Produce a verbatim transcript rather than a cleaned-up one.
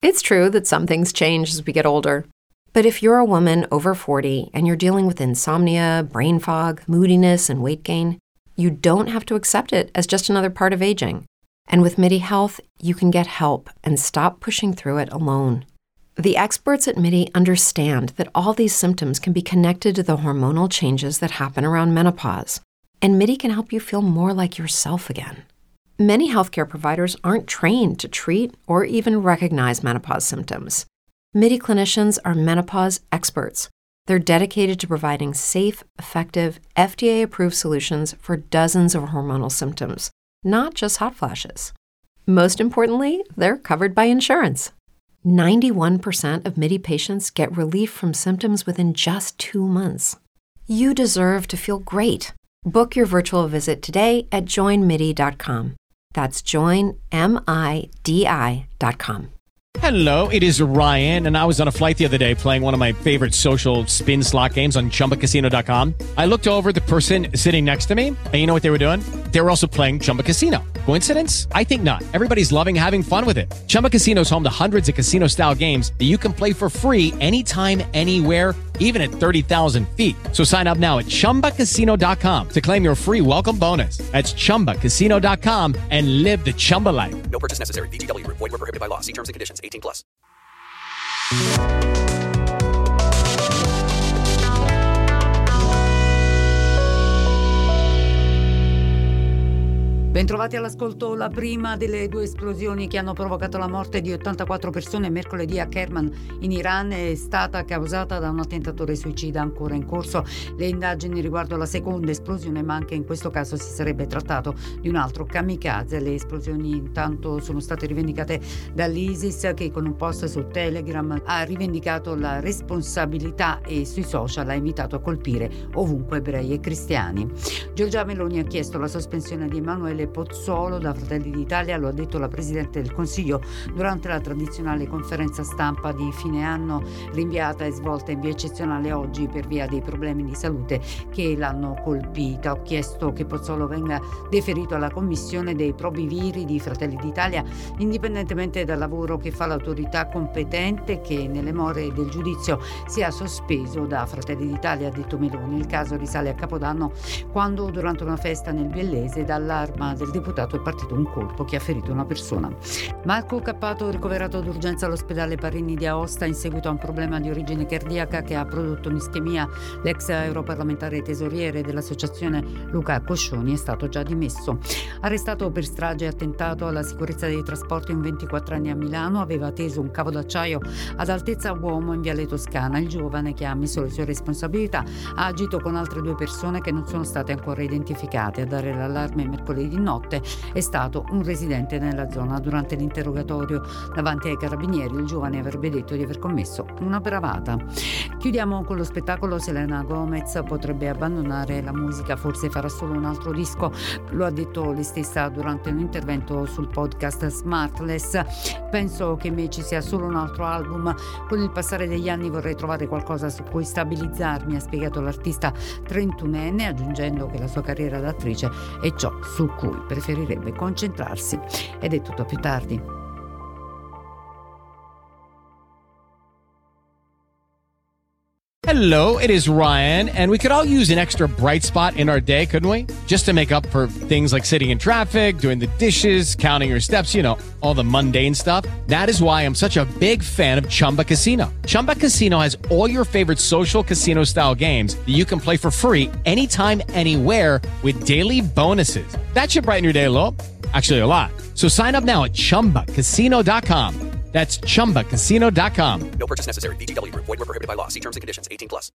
It's true that some things change as we get older. But if you're a woman over forty and you're dealing with insomnia, brain fog, moodiness, and weight gain, you don't have to accept it as just another part of aging. And with MIDI Health, you can get help and stop pushing through it alone. The experts at MIDI understand that all these symptoms can be connected to the hormonal changes that happen around menopause, and MIDI can help you feel more like yourself again. Many healthcare providers aren't trained to treat or even recognize menopause symptoms. MIDI clinicians are menopause experts. They're dedicated to providing safe, effective, F D A-approved solutions for dozens of hormonal symptoms, not just hot flashes. Most importantly, they're covered by insurance. ninety-one percent of MIDI patients get relief from symptoms within just two months. You deserve to feel great. Book your virtual visit today at join midi dot com. That's join midi dot com. Hello, it is Ryan, and I was on a flight the other day playing one of my favorite social spin slot games on chumba casino dot com. I looked over at the person sitting next to me, and you know what they were doing? They were also playing Chumba Casino. Coincidence? I think not. Everybody's loving having fun with it. Chumba Casino is home to hundreds of casino-style games that you can play for free anytime, anywhere, even at thirty thousand feet. So sign up now at chumba casino dot com to claim your free welcome bonus. That's chumba casino dot com and live the Chumba life. No purchase necessary. V G W. Void where prohibited by law. See terms and conditions. eighteen plus. Bentrovati all'ascolto. La prima delle due esplosioni che hanno provocato la morte di ottantaquattro persone mercoledì a Kerman in Iran è stata causata da un attentatore suicida ancora in corso. Le indagini riguardo alla seconda esplosione, ma anche in questo caso si sarebbe trattato di un altro kamikaze. Le esplosioni intanto sono state rivendicate dall'ISIS, che con un post su Telegram ha rivendicato la responsabilità e sui social ha invitato a colpire ovunque ebrei e cristiani. Giorgia Meloni ha chiesto la sospensione di Emanuele Pozzolo da Fratelli d'Italia, lo ha detto la Presidente del Consiglio durante la tradizionale conferenza stampa di fine anno, rinviata e svolta in via eccezionale oggi per via dei problemi di salute che l'hanno colpita. Ho chiesto che Pozzolo venga deferito alla Commissione dei probiviri di Fratelli d'Italia, indipendentemente dal lavoro che fa l'autorità competente, che nelle more del giudizio sia sospeso da Fratelli d'Italia, ha detto Meloni. Il caso risale a Capodanno, quando durante una festa nel Biellese dall'arma del deputato è partito un colpo che ha ferito una persona. Marco Cappato ricoverato d'urgenza all'ospedale Parini di Aosta in seguito a un problema di origine cardiaca che ha prodotto un'ischemia. L'ex europarlamentare tesoriere dell'associazione Luca Coscioni è stato già dimesso. Arrestato per strage e attentato alla sicurezza dei trasporti un ventiquattrenne a Milano, aveva teso un cavo d'acciaio ad altezza uomo in Viale Toscana. Il giovane, che ha ammesso le sue responsabilità, ha agito con altre due persone che non sono state ancora identificate. A dare l'allarme mercoledì notte è stato un residente nella zona. Durante l'interrogatorio davanti ai carabinieri il giovane avrebbe detto di aver commesso una bravata. Chiudiamo con lo spettacolo. Selena Gomez potrebbe abbandonare la musica, forse farà solo un altro disco, lo ha detto lei stessa durante un intervento sul podcast Smartless. Penso che me ci sia solo un altro album, con il passare degli anni vorrei trovare qualcosa su cui stabilizzarmi, ha spiegato l'artista trentunenne, aggiungendo che la sua carriera d'attrice è ciò su cui preferirebbe concentrarsi. Ed è tutto, a più tardi. Hello, it is Ryan, and we could all use an extra bright spot in our day, couldn't we? Just to make up for things like sitting in traffic, doing the dishes, counting your steps, you know, all the mundane stuff. That is why I'm such a big fan of Chumba Casino. Chumba Casino has all your favorite social casino-style games that you can play for free anytime, anywhere with daily bonuses. That should brighten your day a little. Actually, a lot. So sign up now at chumba casino dot com. That's chumba casino dot com. No purchase necessary. V G W. Void where prohibited by law. See terms and conditions. eighteen plus.